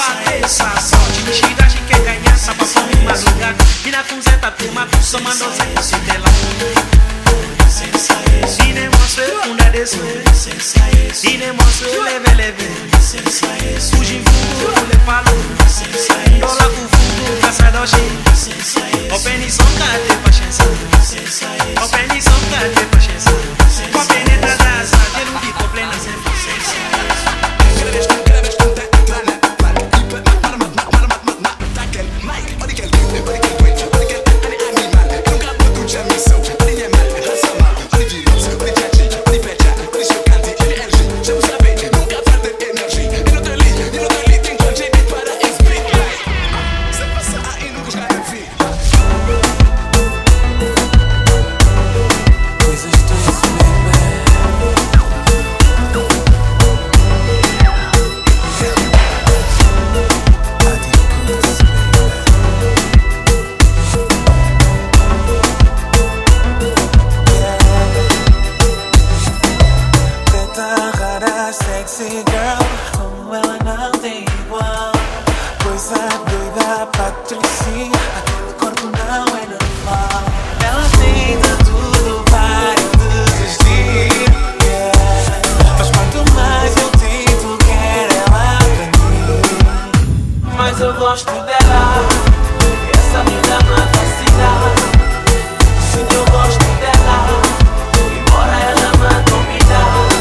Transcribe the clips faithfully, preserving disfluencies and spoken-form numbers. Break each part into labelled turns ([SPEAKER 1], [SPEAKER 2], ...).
[SPEAKER 1] a essa sorte. Tiragem quer ganhar, sapapão e madrugada. Vira com zeta, turma, só mandou zeta, se dela. Dine monstre, funda desse. Dine monstre, leve, leve. Fugi fundo, le falo. Dola com fundo, caça doji. Open is on carte pra chance. Open is on carte pra chance. Com a penetra da asa, gelo de problema sempre.
[SPEAKER 2] Sexy girl, como ela não tem igual. Coisa doida, Patricinha, aquele corpo não é normal. Ela tenta tudo para eu desistir, yeah. Mas quanto mais eu tento, quero ela pra mim. Mas eu gosto dela, e essa menina me fascina. Sim, eu gosto dela, embora ela me domina.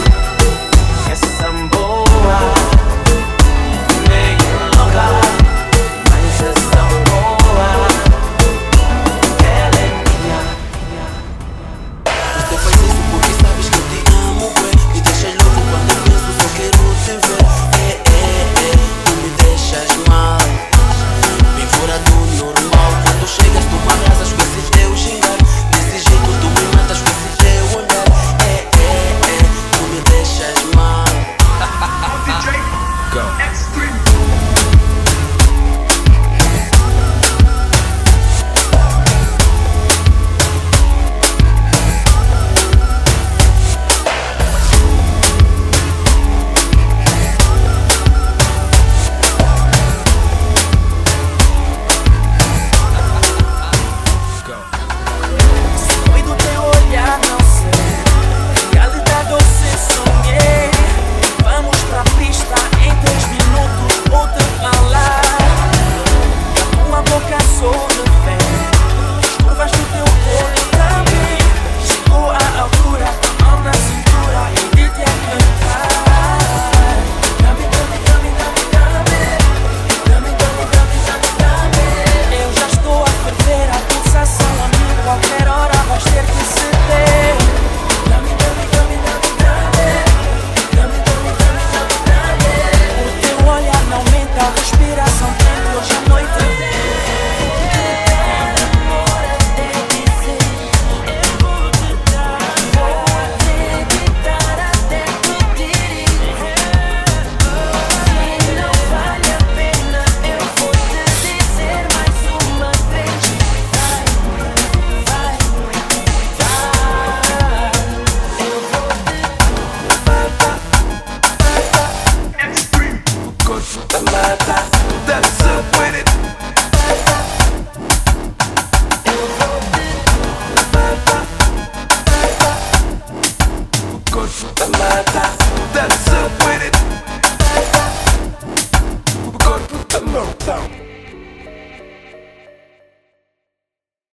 [SPEAKER 3] That's up with it. Good for the mata. That's up with it. Good for the mata.